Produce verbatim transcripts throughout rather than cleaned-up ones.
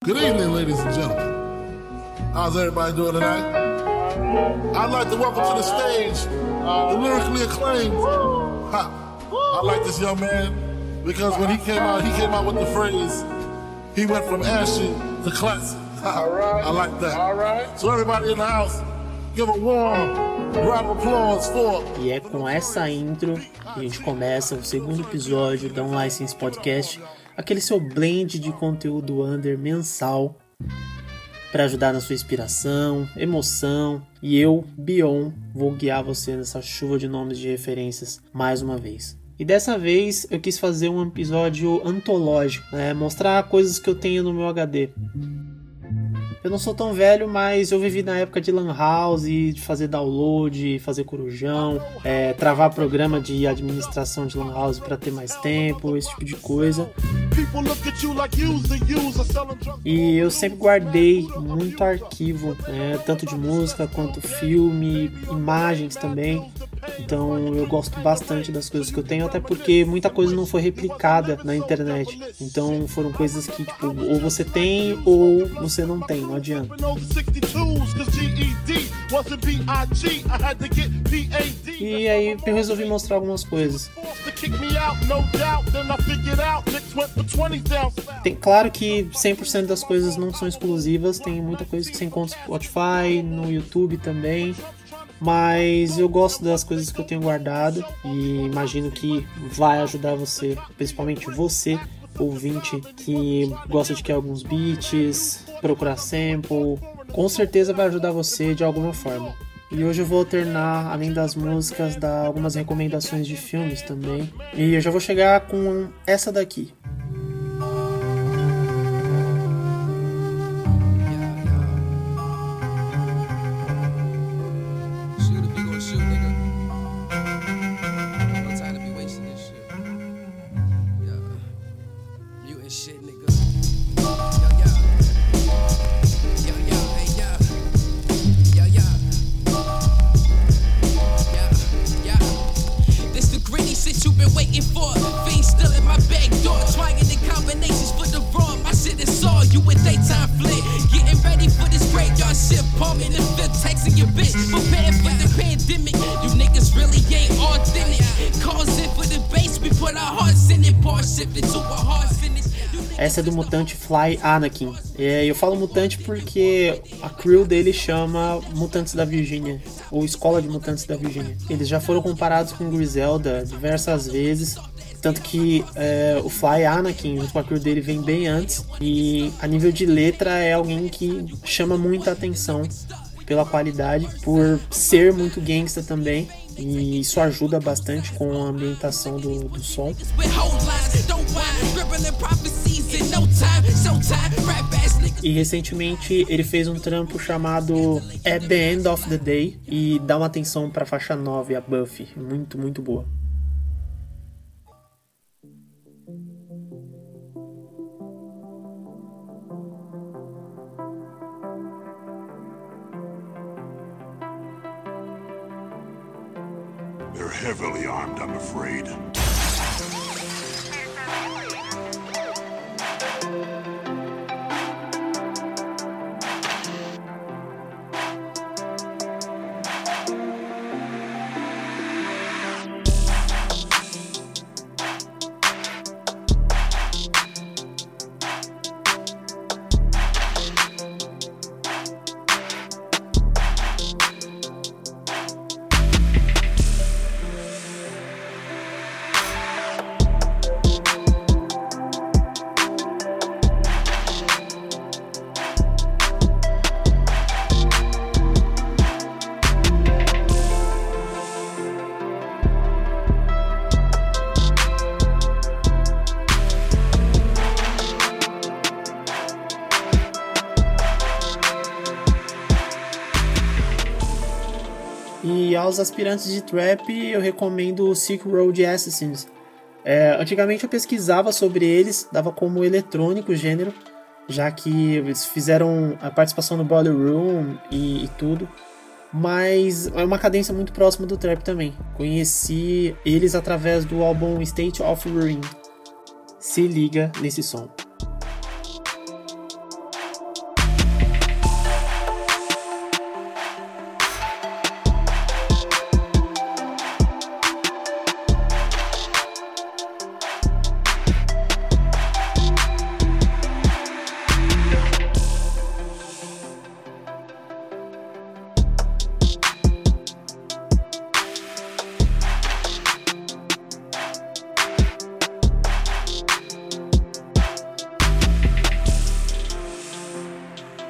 Good evening, ladies and gentlemen. How's everybody doing tonight? I'd like to welcome to the stage the lyrically acclaimed. Ha. I like this young man because when he came out, he came out with the phrase, he went from ashy to classic. All right. I like that. All right. So everybody in the house, give a warm round of applause for. E é com essa intro que a gente começa o segundo episódio da Unlicensed Podcast, aquele seu blend de conteúdo under mensal para ajudar na sua inspiração, emoção, e eu, Bion, vou guiar você nessa chuva de nomes de referências mais uma vez. E dessa vez eu quis fazer um episódio antológico, né? Mostrar coisas que eu tenho no meu H D. Eu não sou tão velho, mas eu vivi na época de Lan House, de fazer download, fazer corujão, é, travar programa de administração de Lan House para ter mais tempo, esse tipo de coisa. E eu sempre guardei muito arquivo, né, tanto de música quanto filme, imagens também. Então eu gosto bastante das coisas que eu tenho, até porque muita coisa não foi replicada na internet. Então foram coisas que, tipo, ou você tem ou você não tem, não adianta. E aí eu resolvi mostrar algumas coisas. Tem, claro que cem por cento das coisas não são exclusivas, tem muita coisa que você encontra no Spotify, no YouTube também. Mas eu gosto das coisas que eu tenho guardado e imagino que vai ajudar você, principalmente você, ouvinte, que gosta de criar alguns beats, procurar sample. Com certeza vai ajudar você de alguma forma. E hoje eu vou alternar, além das músicas, dar algumas recomendações de filmes também. E eu já vou chegar com essa daqui. Essa é do mutante Fly Anakin. É, eu falo mutante porque a crew dele chama Mutantes da Virgínia, ou Escola de Mutantes da Virgínia. Eles já foram comparados com Griselda diversas vezes, tanto que é, o Fly Anakin, junto com a crew dele, vem bem antes. E a nível de letra é alguém que chama muita atenção pela qualidade, por ser muito gangsta também. E isso ajuda bastante com a ambientação do, do som. E recentemente ele fez um trampo chamado At the End of the Day e dá uma atenção para a faixa nove, a Buffy, muito, muito boa. They're heavily armed, I'm afraid. E aos aspirantes de trap eu recomendo o Silk Road Assassins. É, antigamente eu pesquisava sobre eles, dava como eletrônico o gênero, já que eles fizeram a participação no Boiler Room e, e tudo. Mas é uma cadência muito próxima do trap também. Conheci eles através do álbum State of Ruin. Se liga nesse som.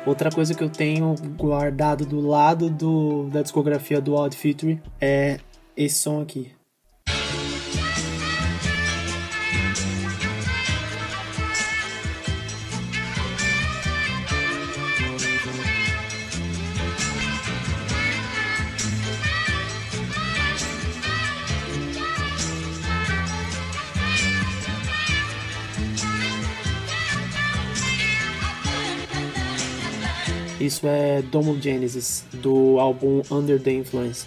Outra coisa que eu tenho guardado do lado do, da discografia do Odd Future é esse som aqui. Isso é Domo Genesis, do álbum Under the Influence.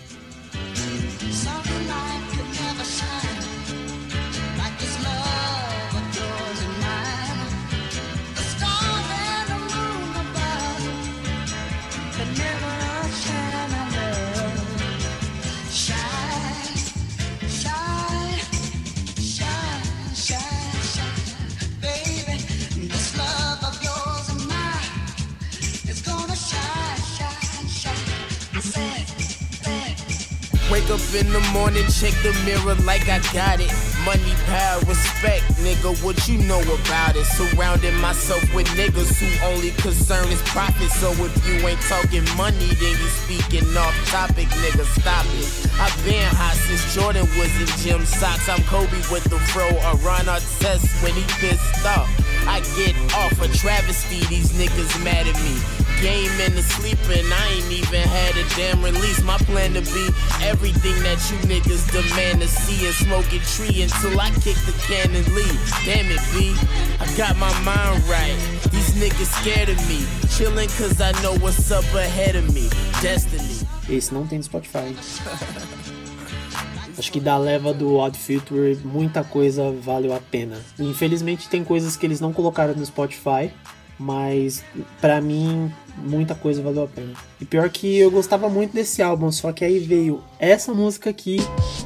Wake up in the morning, check the mirror like I got it. Money, power, respect, nigga, what you know about it? Surrounding myself with niggas who only concern is profit. So if you ain't talking money, then you speaking off topic, nigga, stop it. I've been hot since Jordan was in gym socks. I'm Kobe with the fro, or Ron Artest when he pissed off. I get off a travesty, these niggas mad at me. Game and the sleeping, I ain't even had a damn release. My plan to be everything that you niggas demand to see, and smoke a tree until I kick the can and leave. Damn it, B, I got my mind right. These niggas scared of me, chilling cause I know what's up ahead of me. Destiny. Esse não tem no Spotify. Acho que da leva do Odd Future, muita coisa valeu a pena. Infelizmente tem coisas que eles não colocaram no Spotify, mas pra mim muita coisa valeu a pena. E pior que eu gostava muito desse álbum, só que aí veio essa música aqui.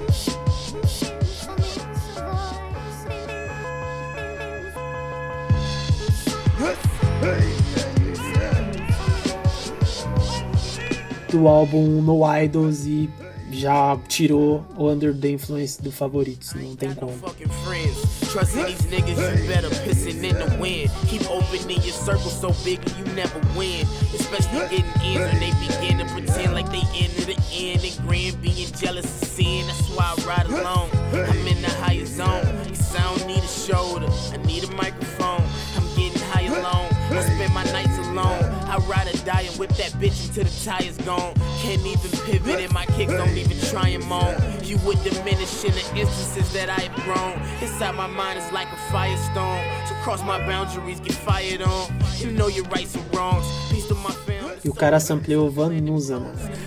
Do álbum No Idols e já tirou o Under the Influence do favoritos, não tem como. Trusting these niggas, you better pissing in the wind. Keep opening your circle so big and you never win. Especially getting in when they begin to pretend like they in to the end. And grin, being jealous is sin, that's why I ride alone. I'm in the higher zone, cause I don't need a shoulder, I need a microphone. I'm getting high alone, I spend my nights alone. I ride or die and whip that bitch until the tire's gone. Can't even pivot and my kicks don't even try and moan. You would diminish in the instances that I have grown. Inside my mind is like a firestorm. So cross my boundaries, get fired on. You know your rights and wrongs. Peace to my family. E o cara sampleou Van Nuzan.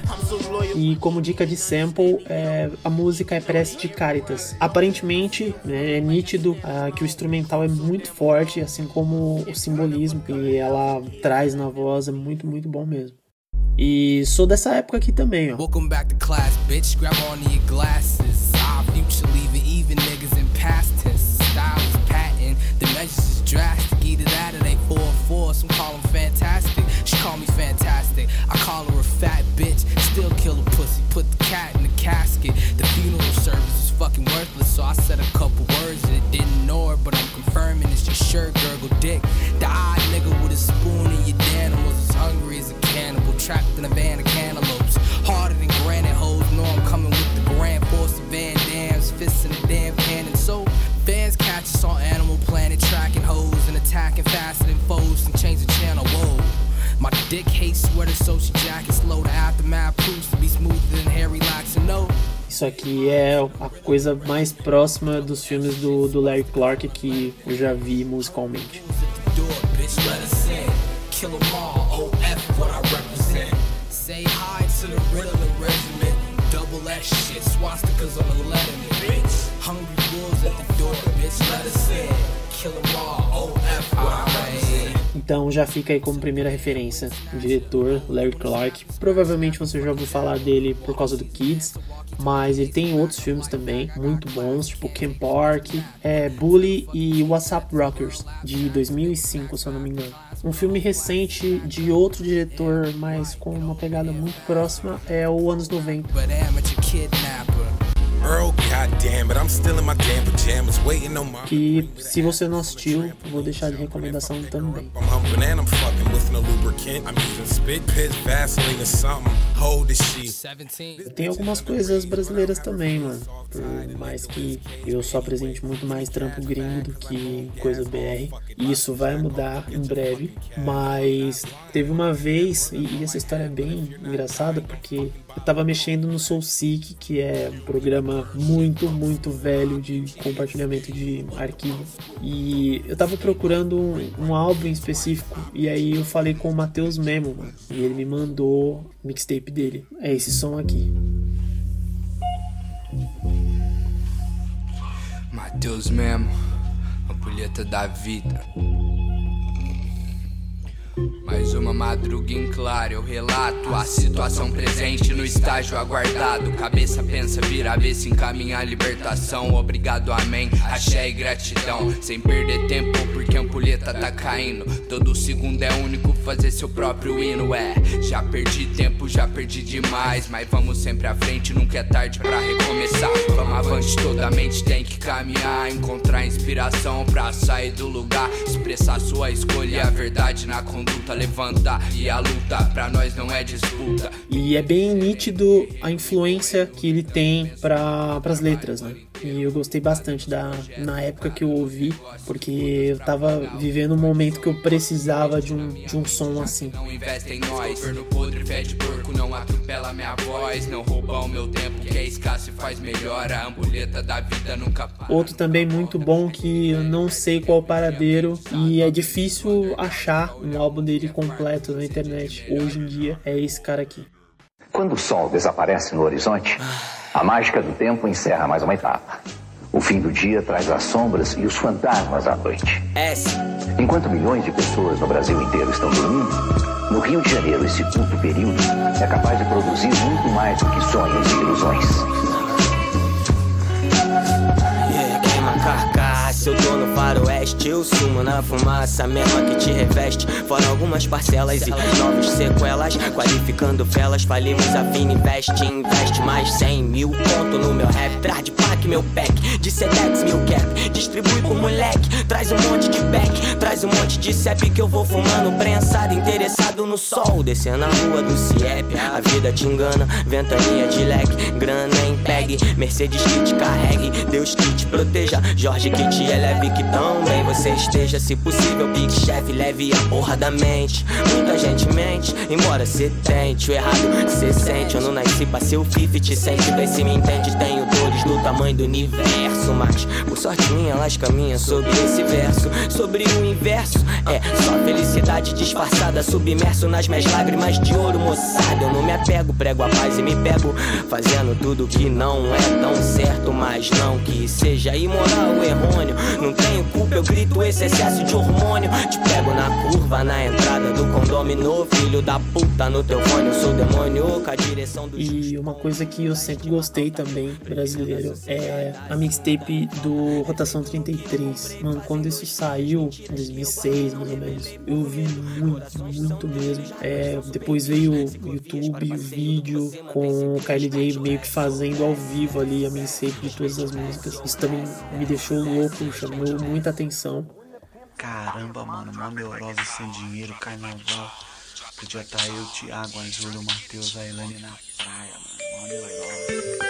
E como dica de sample, é, a música é Prece de Caritas. Aparentemente, né, é nítido uh, que o instrumental é muito forte, assim como o simbolismo que ela traz na voz é muito, muito bom mesmo. E sou dessa época aqui também, ó. Welcome back to class, bitch. Grab on your glasses. Our future leaving even niggas in past tense. Style is patent, the measures is drastic. Either that or they four four. Some call them fantastic. She call me fantastic. I call her a fat bitch. Still kill a pussy. Put the cat in the casket. The funeral service is fucking worthless, so I said a couple words and it didn't know her, but I'm confirming it's your shirt, gurgle dick. The odd nigga with a spoon in your den was as hungry as a cannibal, trapped in a van of cantaloupes. Harder than granite hoes, know I'm coming with the grand force of Van Dam's fists in a damn cannon. So fans catch us on Animal Planet, tracking hoes and attacking faster than foes and change the channel. Whoa. My dick hates sweater, so she jacket slow. The aftermath proves to be smoother than Harry Locks and no. Isso aqui é a coisa mais próxima dos filmes do, do Larry Clark que eu já vi musicalmente. Say hi to the Riddler regiment. Double X shit, swastikas on the letterman, bitch. Hungry wolves at the door, bitch. Let us in. Kill 'em all, O F I. Então já fica aí como primeira referência o diretor Larry Clark. Provavelmente você já ouviu falar dele por causa do Kids, mas ele tem outros filmes também muito bons, tipo Camp Park, é, Bully e WhatsApp Rockers, de dois mil e cinco, se eu não me engano. Um filme recente de outro diretor, mas com uma pegada muito próxima, é o Anos noventa. Que, se você não assistiu, vou deixar de recomendação também. lubricant. I'm using spit, piss, Vaseline or something. Hold the shit. Tem algumas coisas brasileiras também, mano. Por mais que eu só apresente muito mais trampo gringo do que coisa B R. E isso vai mudar em breve. Mas teve uma vez, e essa história é bem engraçada, porque eu tava mexendo no SoulSeek, que é um programa muito, muito velho de compartilhamento de arquivo. E eu tava procurando um, um álbum específico. E aí eu falei com o Matheus Memo, mano. E ele me mandou o mixtape dele. É esse som aqui. Matheus Memo, ampulheta da vida. Mais uma madruga em claro, eu relato a situação presente no estágio aguardado. Cabeça pensa, vira avesso, encaminha a libertação. Obrigado, amém, axé e gratidão. Sem perder tempo, porque a ampulheta tá caindo. Todo segundo é único, fazer seu próprio hino. É, já perdi tempo, já perdi demais. Mas vamos sempre à frente, nunca é tarde pra recomeçar. Vamos avante, toda a mente tem que caminhar. Encontrar inspiração pra sair do lugar. Expressar sua escolha e a verdade na conduta. Levanta e a luta pra nós não é disputa. E é bem nítido a influência que ele tem para as letras, né? E eu gostei bastante da, na época que eu ouvi, porque eu tava vivendo um momento que eu precisava de um, de um som assim. Não investe em nós, governo podre, fede porco, não atropela minha voz, não rouba o meu tempo, que é escasso e faz melhor, a ampulheta da vida nunca para. Outro também muito bom que eu não sei qual paradeiro e é difícil achar um álbum dele completo na internet hoje em dia, é esse cara aqui. Quando o sol desaparece no horizonte, a mágica do tempo encerra mais uma etapa. O fim do dia traz as sombras e os fantasmas à noite. Enquanto milhões de pessoas no Brasil inteiro estão dormindo, no Rio de Janeiro esse curto período é capaz de produzir muito mais do que sonhos e ilusões. Se eu tô no faroeste, eu sumo na fumaça mesma que te reveste. Fora algumas parcelas e novas sequelas, qualificando felas, falimos a fina investe. Investe mais cem mil ponto no meu rap. Traz de pack meu pack, de Sedex mil cap. Distribui pro moleque, traz um monte de back. Traz um monte de cep que eu vou fumando prensado. Interessado no sol, descendo na rua do Ciep. A vida te engana, ventania de leque. Grana em peg, Mercedes que te carregue. Deus que te proteja, Jorge que te eleve, que tão bem você esteja. Se possível, Big Chef, leve a porra da mente. Muita gente mente, embora cê tente. O errado cê sente, eu não nasci pra ser o fifty cent. Vê se me entende, tenho dores do tamanho do universo. Mas, por sorte minha, elas caminham sobre esse verso. Sobre o inverso, é só felicidade disfarçada. Submerso nas minhas lágrimas de ouro, moçada. Eu não me apego, prego a paz e me pego fazendo tudo que não é tão certo. Mas não que seja imoral ou errôneo. Não tenho culpa, eu grito esse excesso de hormônio. Te pego na curva, na entrada do condomínio. Filho da puta, no teu fone eu sou demônio com a direção do... E uma coisa que eu sempre gostei também, brasileiro, é a mixtape do Rotação trinta e três. Mano, quando isso saiu, em dois mil e seis, mais ou menos, eu ouvi muito, muito mesmo. É, depois veio o YouTube, o vídeo, com o Kylie J meio que fazendo ao vivo ali a mixtape de todas as músicas. Isso também me deixou louco, chamou muita atenção. Caramba, mano, mó neurose sem dinheiro, carnaval. Podia estar eu, Thiago, a Júlio, o Matheus, a Elane na praia, mano, mó neurose.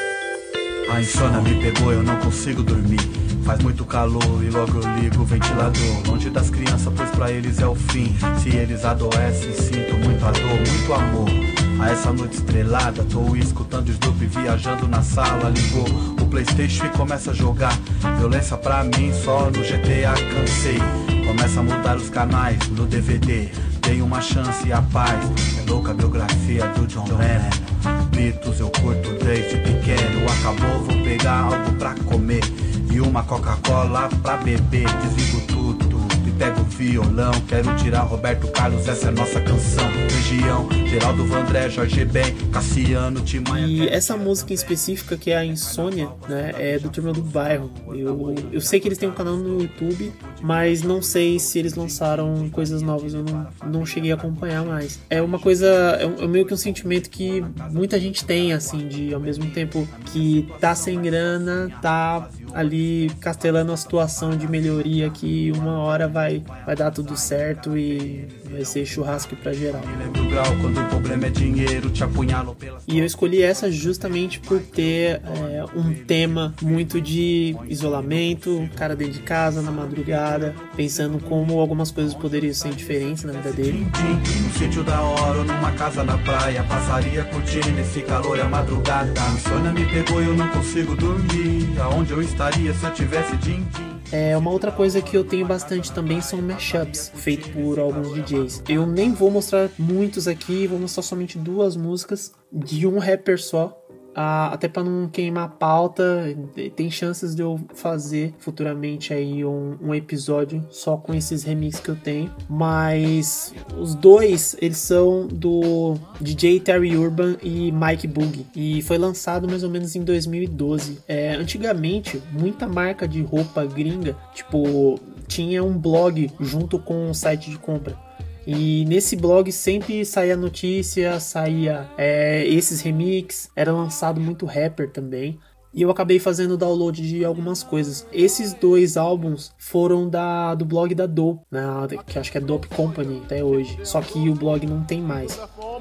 A insônia me pegou, eu não consigo dormir. Faz muito calor e logo eu ligo o ventilador. Longe das crianças, pois pra eles é o fim. Se eles adoecem, sinto muita dor, muito amor. A essa noite estrelada, tô escutando Snoop viajando na sala. Ligou o PlayStation e começa a jogar violência pra mim, só no G T A cansei. Começa a mudar os canais no D V D. Dei uma chance e a paz. É louca a biografia do John Lennon. Beatles eu curto desde pequeno. Acabou, vou pegar algo pra comer e uma Coca-Cola pra beber. Desligo tudo e pego o violão. Quero tirar Roberto Carlos, essa é nossa canção. Região, Geraldo Vandré, Jorge Ben, Cassiano, Timaya. E essa música em específica, que é a Insônia, né, é do Turma do Bairro. Eu, eu sei que eles têm um canal no YouTube, mas não sei se eles lançaram coisas novas. Eu não, não cheguei a acompanhar mais. É uma coisa, é, um, é meio que um sentimento que muita gente tem, assim, de ao mesmo tempo que tá sem grana, tá ali castelando a situação de melhoria, que uma hora vai, vai dar tudo certo e vai ser churrasco pra geral. Lembra o grau quando o problema é dinheiro, te apunhalo pelas... E eu escolhi essa justamente por ter é, um tema muito de isolamento, cara dentro de casa, na madrugada, pensando como algumas coisas poderiam ser diferentes na vida dele. No sítio da hora ou numa casa na praia, passaria curtindo esse calor e a madrugada. A insônia me pegou e eu não consigo dormir. Aonde eu estaria se eu tivesse din-din? É, uma outra coisa que eu tenho bastante também são mashups, feitos por alguns D Js. Eu nem vou mostrar muitos aqui, vou mostrar somente duas músicas de um rapper só. Ah, até para não queimar a pauta, tem chances de eu fazer futuramente aí um, um episódio só com esses remixes que eu tenho, mas os dois, eles são do D J Terry Urban e Mike Boogie, e foi lançado mais ou menos em dois mil e doze. É, antigamente, muita marca de roupa gringa, tipo, tinha um blog junto com um site de compra. E nesse blog sempre saía notícia, saía é, esses remix, era lançado muito rapper também. E eu acabei fazendo download de algumas coisas. Esses dois álbuns foram da, do blog da Dope, né, que acho que é Dope Company até hoje. Só que o blog não tem mais.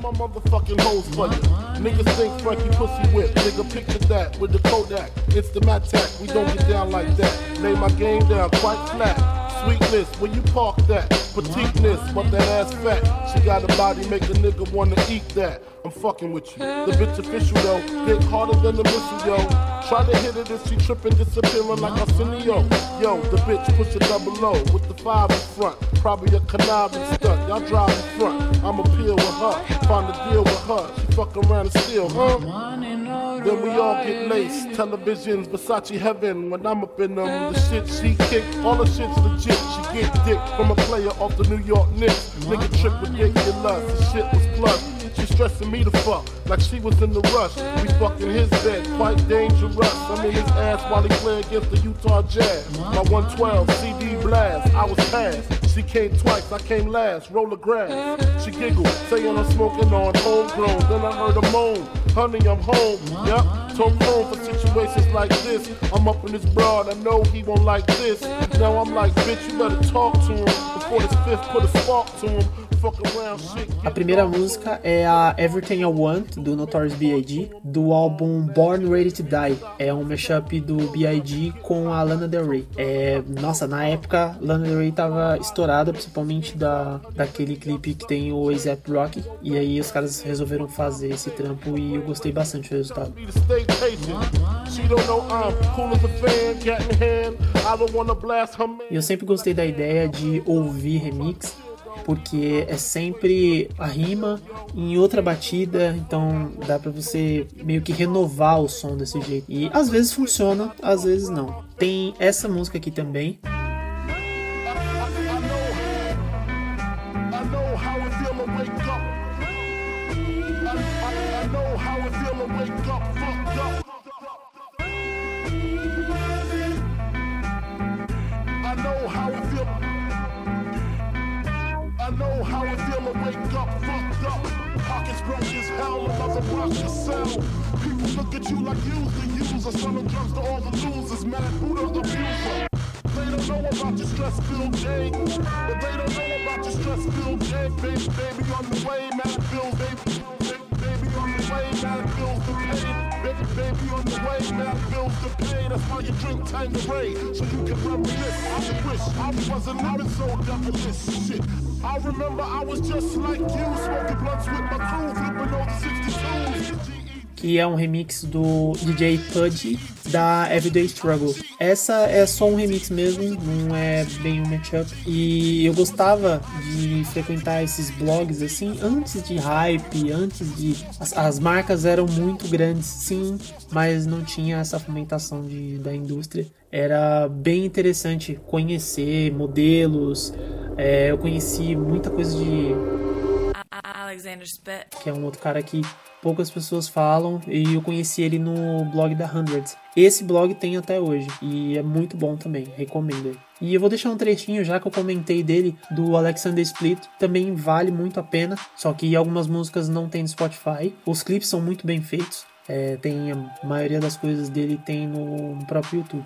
Sweetness, where you park that? Petiteness, but that ass fat. She got a body, make a nigga wanna eat that. I'm fucking with you. The bitch official though, dick harder than the missile, yo. Try to hit it and she tripping, disappearing like Arsenio. Yo, the bitch push a double O with the five in front. Probably a conniving stunt. Y'all drive in front. I'ma peel with her, find a deal with her. She fuck around and steal, huh? Then we all get laced. Televisions, Versace heaven. When I'm up in them, the shit she kick, all the shit's legit. She get dick from a player off the New York Knicks. Nigga trick ridiculous. The shit was plus. She stressing me to fuck like she was in the rush. We fucking his bed, quite dangerous. I'm in his ass while he play against the Utah Jazz. My one twelve C D blast, I was passed. She came twice, I came last. Roll the grass. She giggled, saying I'm smoking on homegrown. Then I heard her moan, honey, I'm home. Yep, told home for situations like this. I'm up in this broad, I know he won't like this. Now I'm like, bitch, you better talk to him before this fifth put a spark to him. A primeira música é a Everything I Want, do Notorious B I G, do álbum Born Ready to Die. É um mashup do B I G com a Lana Del Rey. É, nossa, na época, Lana Del Rey tava estourada, principalmente da, daquele clipe que tem o A$AP Rocky. E aí os caras resolveram fazer esse trampo e eu gostei bastante do resultado. E eu sempre gostei da ideia de ouvir remix, porque é sempre a rima em outra batida, então dá pra você meio que renovar o som desse jeito. E às vezes funciona, às vezes não. Tem essa música aqui também. I know how it feel to wake up, fucked up. Pockets broke as hell, another rush yourself. People look at you like you's the user. Selling drugs to all the losers, mad Buddha abuser. They don't know about your stress-filled day, but they don't know about your stress-filled day. Baby, baby on the way, mad bills, baby, baby, baby on the way, mad bills to pay. Baby, baby on the way, mad bills to pay. That's why you drink Tanqueray, so you can reminisce. I wish I wasn't living so devilish shit. I remember I was just like you, smoking blunts with my crew, flipping over sixty-twos. Que é um remix do D J Pudgy da Everyday Struggle. Essa é só um remix mesmo, não é bem um mashup. E eu gostava de frequentar esses blogs assim, antes de hype, antes de... As, as marcas eram muito grandes, sim, mas não tinha essa fomentação de, da indústria. Era bem interessante conhecer modelos, é, eu conheci muita coisa de... Alexander Spett, que é um outro cara que poucas pessoas falam, e eu conheci ele no blog da Hundreds. Esse blog tem até hoje e é muito bom também, recomendo ele. E eu vou deixar um trechinho, já que eu comentei dele, do Alexander Split, também vale muito a pena, só que algumas músicas não tem no Spotify. Os clipes são muito bem feitos, é, tem a maioria das coisas dele tem no próprio YouTube.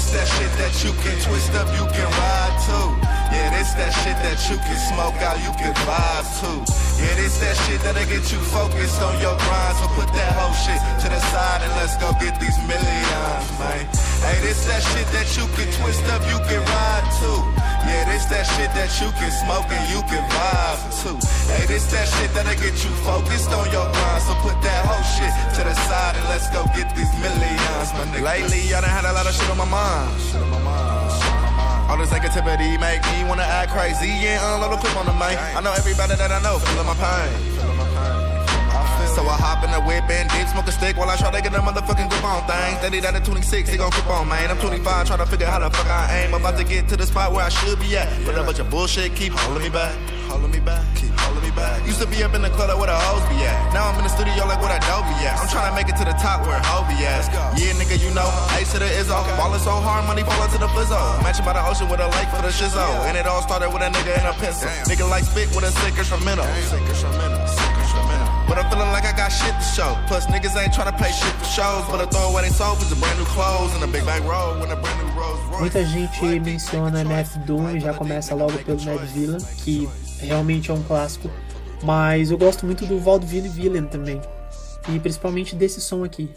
this that shit that you can twist up, you can ride too. Yeah, this that shit that you can smoke out, you can vibe too. Yeah, this that shit that'll get you focused on your grind. So put that whole shit to the side and let's go get these millions, man. Hey, this that shit that you can twist up, you can ride too. Yeah, this that shit that you can smoke and you can vibe too. Hey, this that shit that'll get you focused on your grind. So put that whole shit to the side and let's go get these millions, my nigga. Lately, I done had a lot of shit on my mind. Shit on my mind. All this negativity make me wanna act crazy and unload a clip on the mic. I know everybody that I know feeling my pain. So I hop in the whip and dip, smoke a stick while I try to get a motherfucking grip on things. Steady that at twenty-six, he gon' grip on, man. I'm twenty-five, trying to figure how the fuck I aim. About to get to the spot where I should be at. But a bunch of bullshit keep holding me back. Holding me back, keep holding me back. Used to be up in the club like where the hoes be at. Now I'm in the studio like where that dope be at. I'm trying to make it to the top where hoe be at. Yeah, nigga, you know, Ace to the Izzo. Ballin' so hard, money fallin' to the flizzo. Matching by the ocean with a lake for the shizzo. And it all started with a nigga and a pencil. Nigga like spit with a sick instrumental. Sick instrumental, sick instrumental. But I'm feeling like I got shit to show. Plus niggas ain't trying to pay shit for shows. But I throw away they soul is a brand new clothes and a big bang roll with a brand new Rolls Royce. Muita gente menciona M F Doom e já começa logo pelo Mad Villain, que realmente é um clássico. Mas eu gosto muito do Vaudeville Villain também. E principalmente desse som aqui.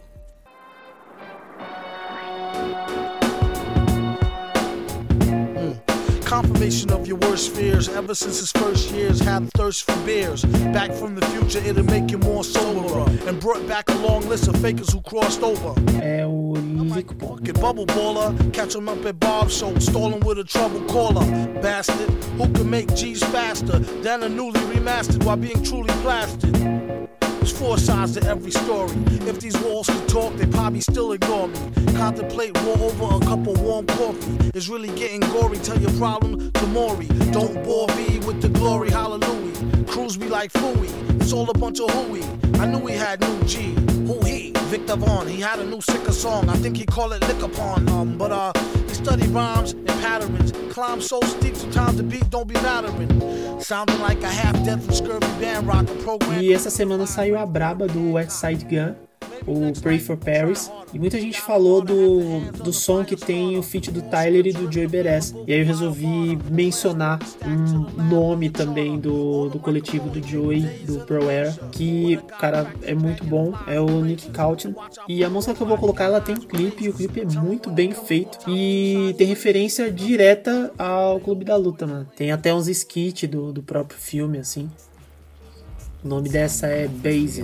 Confirmation of your worst fears. Ever since his first years, had a thirst for beers. Back from the future, it'll make you more soberer. And brought back a long list of fakers who crossed over. É o Lick Pocket bubble baller, catch him up at Bob's show, stalling with a trouble caller. Bastard, who can make G's faster than a newly remastered while being truly blasted. There's four sides to every story. If these walls could talk, they probably still ignore me. Contemplate war over a cup of warm coffee. It's really getting gory. Tell your problem to Maury. Don't bore me with the glory. Hallelujah. Crews be like Fooey. It's all a bunch of hooey. I knew he had new G. Who he? Victor Vaughn. He had a new sicker song. I think he call it Lick Upon. Um, but uh, he studied rhymes and patterns. Climb so steep, sometimes the beat don't be mattering. Sounding like a half-dead from Scurvy Band Rock, a program. E essa semana saiu a braba do West Side Gun, o Pray for Paris, e muita gente falou do, do som que tem o feat do Tyler e do Joey Badass. E aí eu resolvi mencionar um nome também do, do coletivo do Joey, do Pro Era, que, cara, é muito bom, é o Nick Cautin. E a música que eu vou colocar, ela tem clipe, e o clipe é muito bem feito e tem referência direta ao Clube da Luta, mano. Tem até uns skits do, do próprio filme, assim. O nome dessa é Basin.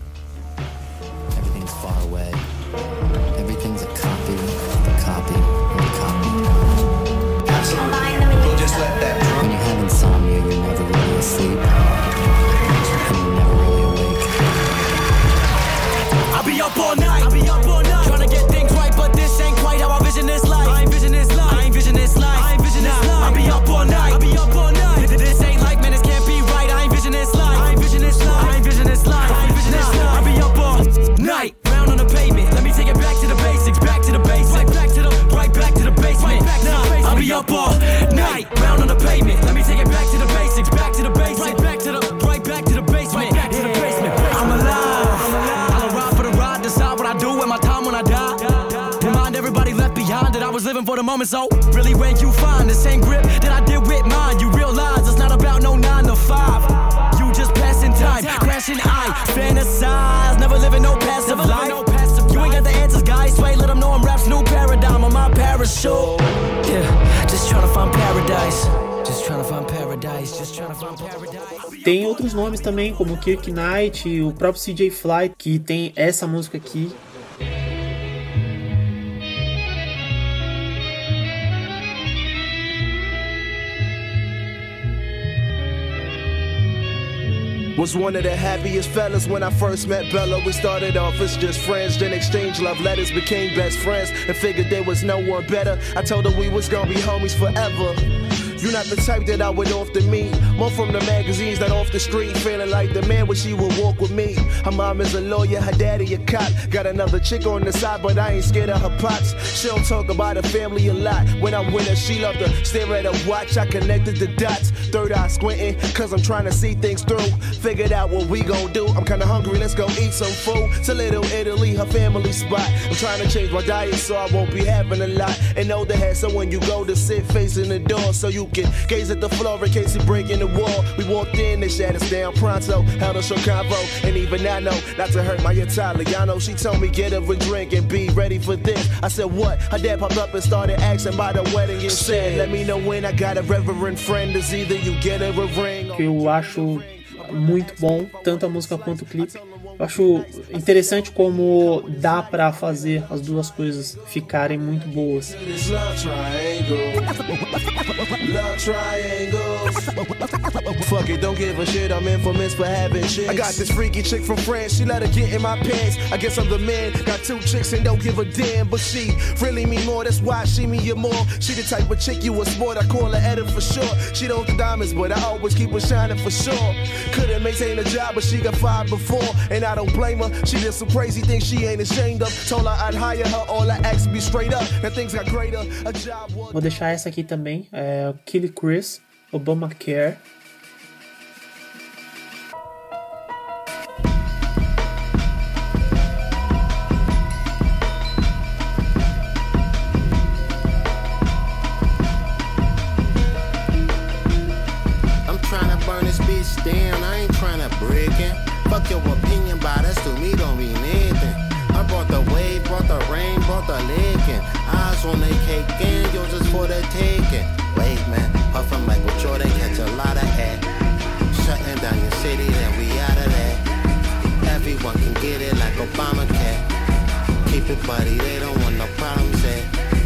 Far away. Everything's a copy, a copy, a copy. Absolutely. Just let that. When you have insomnia, you're never really asleep, and you're never really awake. I'll be up all night. I'll be up all night. Trying to get things right, but this ain't quite how I vision this life. I ain't vision this life. I ain't vision this life. I ain't vision this life. I'll be up all night. I'll be up all night. This ain't like, man, this can't be right. I ain't vision this life. I ain't vision this life. I ain't vision this life. I ain't vision this life. I'll be up all night. On the pavement, let me take it back to the basics, back to the basics, right back to the, right back to the basement. Right back to nah, the basement. I'll be up all night, round on the pavement. Let me take it back to the basics, back to the basics, right back to the, right back to the basement. Right back to the basement. I'm alive. I'm alive. I'll ride for the ride, decide what I do with my time when I die. Remind everybody left behind that I was living for the moment. So really, when you find the same grip that I did with mine, you realize it's not about no nine to five. You just passing time, crashing I fantasize, never living no passive life. You ain't got the answers, guys. Sway, let them know I'm rap's new paradigm on my parachute. Yeah, just trying to find paradise. Just trying to find paradise. Just trying to find paradise. Tem outros nomes também, como Kirk Knight, o próprio C J Fly, que tem essa música aqui. Was one of the happiest fellas when I first met Bella. We started off as just friends, then exchanged love letters, became best friends, and figured there was no one better. I told her we was gonna be homies forever. You're not the type that I would often meet. More from the magazines than off the street. Feeling like the man when she would walk with me. Her mom is a lawyer, her daddy a cop. Got another chick on the side, but I ain't scared of her pops. She don't talk about her family a lot. When I'm with her, she love to stare at her watch. I connected the dots. Third eye squinting, cause I'm trying to see things through. Figured out what we gon' do. I'm kinda hungry, let's go eat some food. To Little Italy, her family spot. I'm trying to change my diet so I won't be having a lot. And know the head, so when you go to sit facing the door, so you can gaze at the floor in case you breaking the wall. We walked in, they shut us down pronto. Held a short convo, and even I know not to hurt my Italiano. She told me get her a drink and be ready for this. I said what? Her dad popped up and started asking about the wedding and said, let me know when I got a reverend friend. Is either you get her a ring. Que eu acho muito bom, tanto a música quanto o clipe. Eu acho interessante como dá pra fazer as duas coisas ficarem muito boas. Fuck it, don't give a shit, I'm infamous for having chicks. I got this freaky chick from France, she let her get in my pants. I guess I'm the man, got two chicks and don't give a damn. But she really mean more, that's why she me your more. She the type of chick you a sport, I call her Edit for sure. She don't do diamonds, but I always keep her shining for sure. Couldn't maintain a job, but she got fired before. And I don't blame her, she did some crazy things she ain't ashamed of. Told her I'd hire her, all I asked be straight up. And things got greater, a job was... Vou deixar essa aqui também, é Killy Chris, Obamacare. I'm trying to burn this bitch down, I ain't trying to break it. Fuck your opinion, but us to me don't mean anything. I brought the wave, brought the rain, brought the licking. Eyes on the cake and yours just for the taking. Wait man, puffin' like with Jordan, catch a lot of air. Shutting down your city, then we out of there. Everyone can get it like Obamacare. Keep it buddy, they don't want no problems there.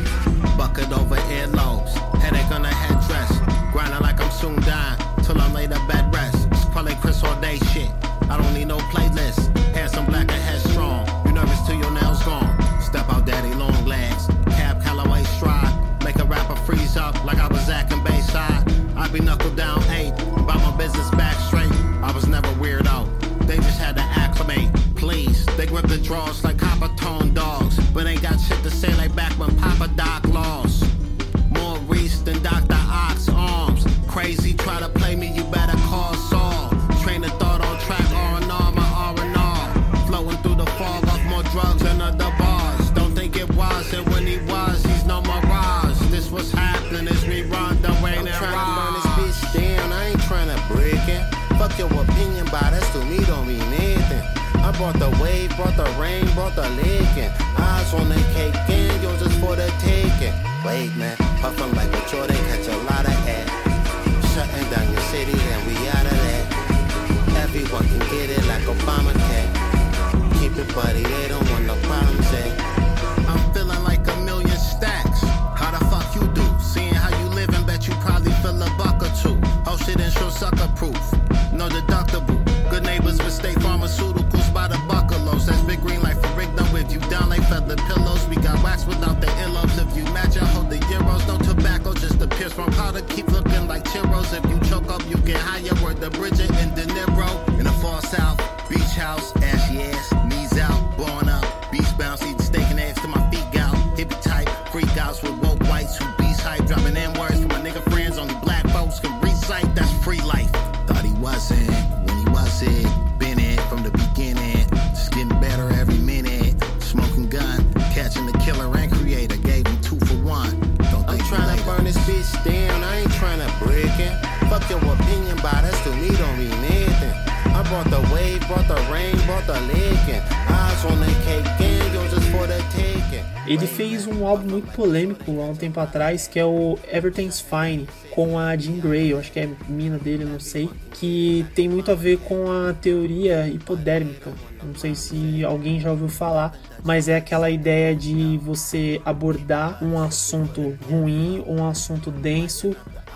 Bucket over earlobes, headache on the headdress. Grinding like I'm soon dying, till I'm laid up bed rest. Probably Chris all day shit. I don't need no playlist. Handsome, black, and headstrong. You nervous till your nails gone. Step out, daddy, long legs. Cab, Callaway, stride. Make a rapper freeze up like I was acting Bayside. I be knuckle down eight. About my business back straight. I was never weird out. They just had to acclimate. Please, they grip the draws like copper tone dogs. But ain't got shit to say like back when Papa Doc lost. More Reese than Doctor Ox arms. Crazy, try to play me, you better call Saul. Train of thought on track, R and R, my R and R. Flowing through the fog off more drugs and other bars. Don't think it was, and when he was, he's no mirage. This was happening as we run the rain and I'm trying to burn this bitch down, I ain't trying to break it. Fuck your opinion, but us to me don't mean anything. I brought the wave, brought the rain, brought the licking. Eyes on the cake and yours just for the taking. Wait man, puffin' like a Jordan, catch a lot of air. Shutting down your city, then we out of there. Everyone can get it like Obamacare. Keep it buddy, they don't want no problems there. I'm feeling like a million stacks. How the fuck you do? Seeing how you live and bet you probably feel a buck or two. Oh shit, insure sucker proof. No deductible. Good neighbors with state pharmaceuticals by the buckalows. That's big green light for Rigno. If you down like feather pillows, we got wax without the earlobes. If you match, I hold the euros. No tobacco, just the pierce from powder. Keep looking like churros. If you choke up, you get higher. Word the Bridget and De Niro. In the far south, beach house, ashy ass, knees out, blowing up. Beach bounce, eat steak and eggs to my feet out. Hippie type, freak outs with woke whites who beast hype. Dropping N words for my nigga friends. Only black folks can recite. That's free life. Thought he wasn't when he was it. Been it from the beginning. Just getting better every minute. Smoking gun, catching the killer and creator. Gave him two for one. Don't I'm trying to burn this bitch down. I ain't trying to break it. Fuck your opinion, but us to me don't mean anything. I brought the wave, brought the rain, brought the licking. Eyes on the cake and yours just for the taking. Ele fez um álbum muito polêmico há um tempo atrás, que é o Everything's Fine, com a Jean Grey, eu acho que é mina dele, não sei, que tem muito a ver com a teoria hipodérmica. Não sei se alguém já ouviu falar, mas é aquela ideia de você abordar um assunto ruim, um assunto denso,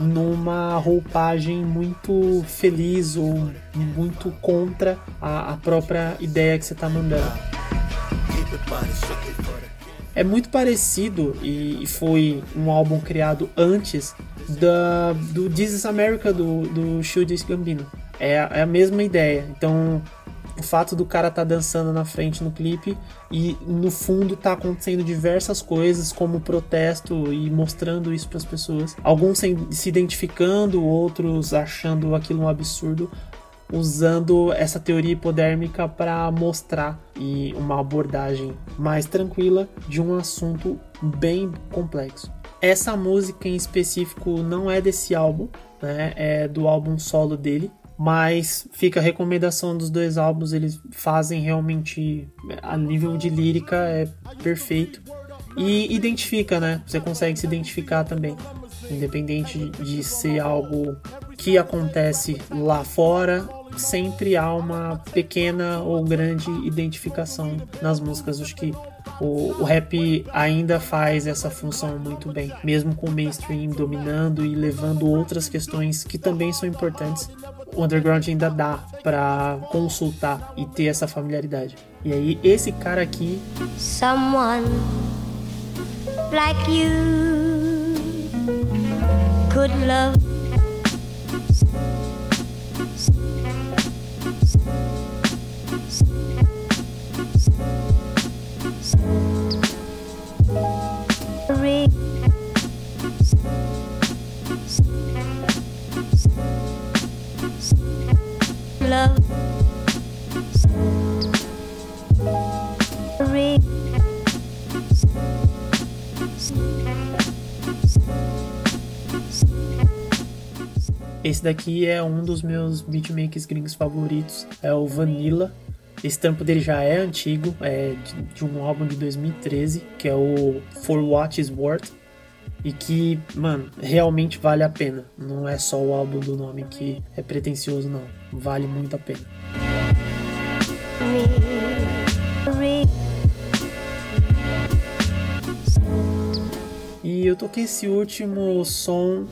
numa roupagem muito feliz ou muito contra a, a própria ideia que você está mandando. é muito parecido e foi um álbum criado antes da, do This Is America do, do Childish Gambino. É, é a mesma ideia. Então o fato do cara tá dançando na frente no clipe e no fundo tá acontecendo diversas coisas como protesto e mostrando isso para as pessoas, alguns se identificando, outros achando aquilo um absurdo, usando essa teoria hipodérmica para mostrar e uma abordagem mais tranquila de um assunto bem complexo. Essa música em específico não é desse álbum, né? É do álbum solo dele, mas fica a recomendação dos dois álbuns. Eles fazem realmente, a nível de lírica é perfeito e identifica, né? Você consegue se identificar também, independente de ser algo que acontece lá fora, sempre há uma pequena ou grande identificação nas músicas. Acho que o, o rap ainda faz essa função muito bem, mesmo com o mainstream dominando e levando outras questões que também são importantes. O underground ainda dá pra consultar e ter essa familiaridade. E aí esse cara aqui, Someone like you could love love esse daqui é um dos meus beatmakers gringos favoritos, é o Vanilla. Esse trampo dele já é antigo, é de, de um álbum de dois mil e treze, que é o For What It's Worth, e que, mano, realmente vale a pena. Não é só o álbum do nome que é pretencioso, não. Vale muito a pena. E eu toquei esse último som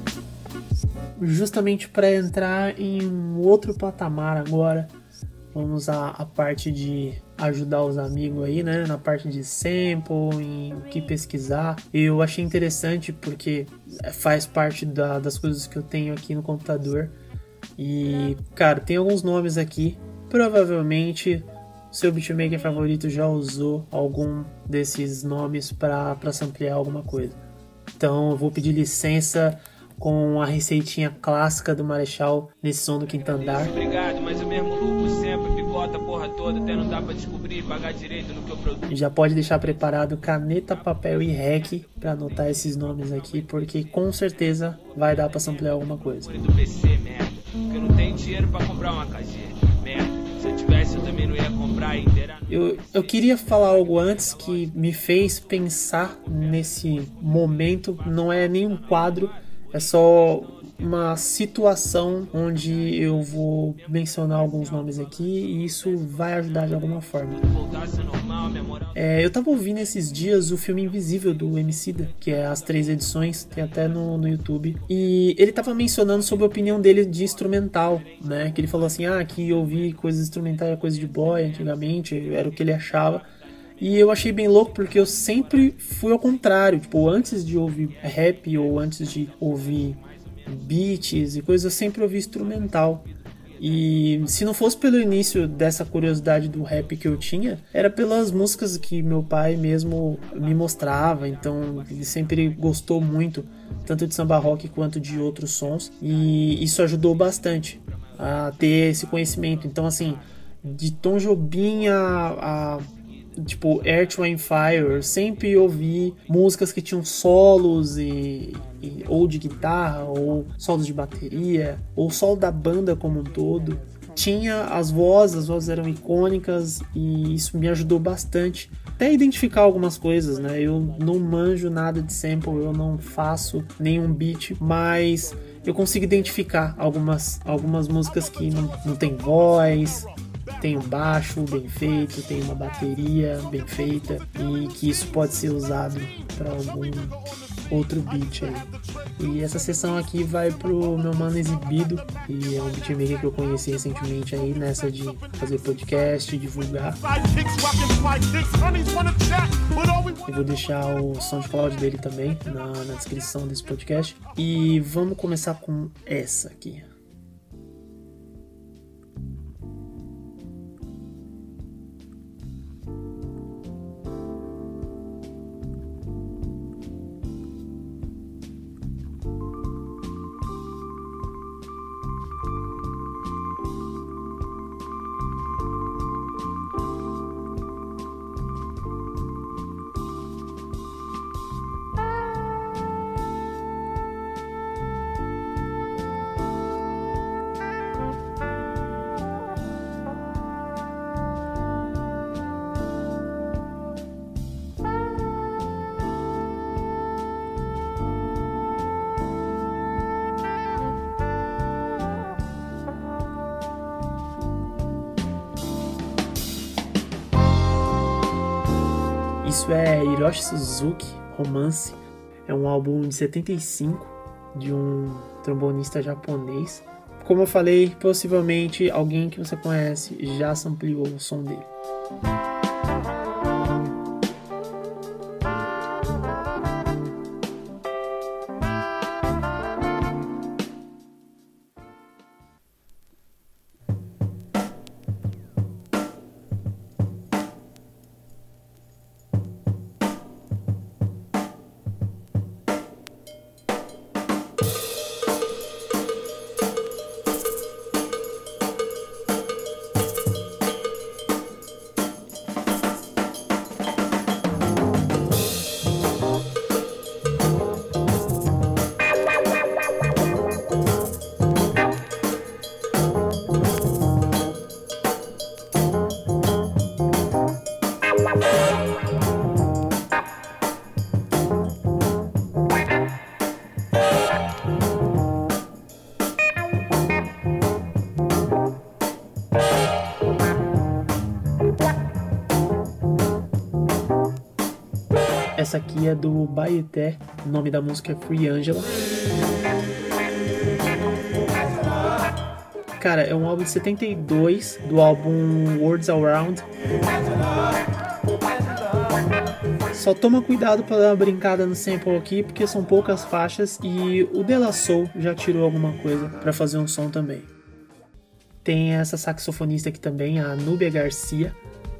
justamente para entrar em um outro patamar agora. Vamos à, à parte de ajudar os amigos aí, né? Na parte de sample, em o que pesquisar. Eu achei interessante porque faz parte da, das coisas que eu tenho aqui no computador. E, cara, tem alguns nomes aqui. Provavelmente seu beatmaker favorito já usou algum desses nomes para para samplear alguma coisa. Então eu vou pedir licença com a receitinha clássica do Marechal nesse som do Quinto Andar. Obrigado, mas o mesmo lucro sempre, picota a porra toda, até não dá pra descobrir e pagar direito no que eu produzo. Já pode deixar preparado caneta, papel e rec pra anotar esses nomes aqui, porque com certeza vai dar pra samplear alguma coisa. Do P C, merda, porque eu não tenho dinheiro pra comprar uma casinha, merda. Se eu tivesse, eu também não ia comprar inteira. Eu, eu queria falar algo antes que me fez pensar nesse momento. Não é nenhum quadro, é só uma situação onde eu vou mencionar alguns nomes aqui e isso vai ajudar de alguma forma. É, eu tava ouvindo esses dias o filme Invisível do Emicida, que é as três edições, tem até no, no YouTube, e ele tava mencionando sobre a opinião dele de instrumental, né? Que ele falou assim, ah, que ouvir coisas instrumentais era coisa de boy antigamente, era o que ele achava. E eu achei bem louco porque eu sempre fui ao contrário, tipo, antes de ouvir rap ou antes de ouvir beats e coisas, eu sempre ouvi instrumental. E se não fosse pelo início dessa curiosidade do rap que eu tinha, era pelas músicas que meu pai mesmo me mostrava. Então ele sempre gostou muito, tanto de samba rock quanto de outros sons, e isso ajudou bastante a ter esse conhecimento. Então assim, de Tom Jobim a, a tipo Earth, Wind and Fire, eu sempre ouvi músicas que tinham solos e, e, ou de guitarra, ou solos de bateria, ou solo da banda como um todo. Tinha as vozes, as vozes eram icônicas e isso me ajudou bastante até identificar algumas coisas, né? Eu não manjo nada de sample, eu não faço nenhum beat, mas eu consigo identificar algumas, algumas músicas que não, não tem voz, tem um baixo bem feito, tem uma bateria bem feita e que isso pode ser usado para algum outro beat aí. E essa sessão aqui vai pro meu mano Exibido, e é um beatmaker que eu conheci recentemente aí nessa de fazer podcast, divulgar. Eu vou deixar o SoundCloud dele também na, na descrição desse podcast. E vamos começar com essa aqui. Isso é Hiroshi Suzuki, Romance. É um álbum de setenta e cinco de um trombonista japonês. Como eu falei, possivelmente alguém que você conhece já sampleou o som dele. Essa aqui é do Baeté, o nome da música é Free Angela. Cara, é um álbum de setenta e dois, do álbum Words Around. Só toma cuidado pra dar uma brincada no sample aqui, porque são poucas faixas e o De La Soul já tirou alguma coisa pra fazer um som também. Tem essa saxofonista aqui também, a Núbia Garcia.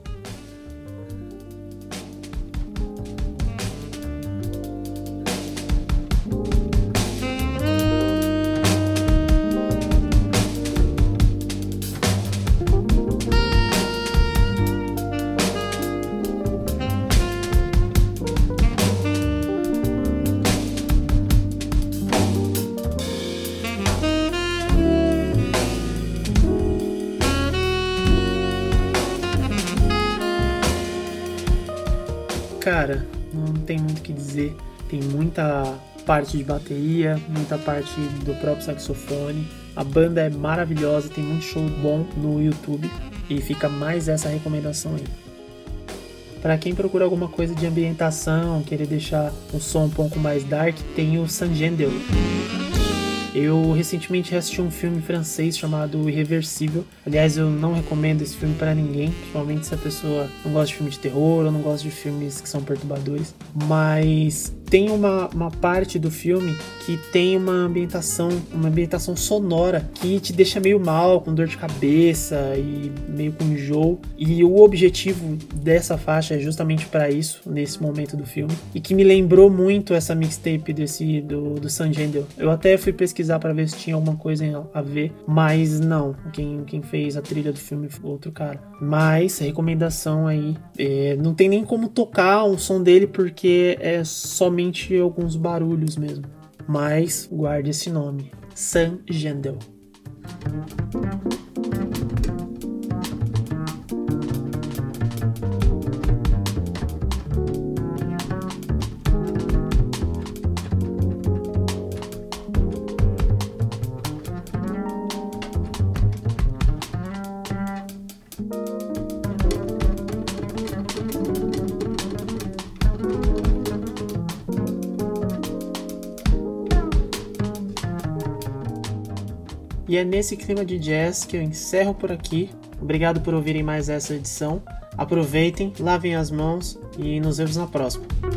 Cara, não tem muito o que dizer. Tem muita parte de bateria, muita parte do próprio saxofone. A banda é maravilhosa, tem muito show bom no YouTube. E fica mais essa recomendação aí. Para quem procura alguma coisa de ambientação, querer deixar o som um pouco mais dark, tem o Sangendel. Eu recentemente assisti um filme francês chamado Irreversível. Aliás, eu não recomendo esse filme pra ninguém, principalmente se a pessoa não gosta de filme de terror ou não gosta de filmes que são perturbadores. Mas tem uma, uma parte do filme que tem uma ambientação, uma ambientação sonora que te deixa meio mal, com dor de cabeça e meio com enjoo. E o objetivo dessa faixa é justamente pra isso, nesse momento do filme. E que me lembrou muito essa mixtape desse, do, do Sangendel. Eu até fui pesquisar pra ver se tinha alguma coisa a ver, mas não. Quem, quem fez a trilha do filme foi outro cara. Mas, recomendação aí, é, não tem nem como tocar um som dele porque é somente alguns barulhos mesmo. Mas guarde esse nome, Sangendel. E é nesse clima de jazz que eu encerro por aqui. Obrigado por ouvirem mais essa edição. Aproveitem, lavem as mãos e nos vemos na próxima.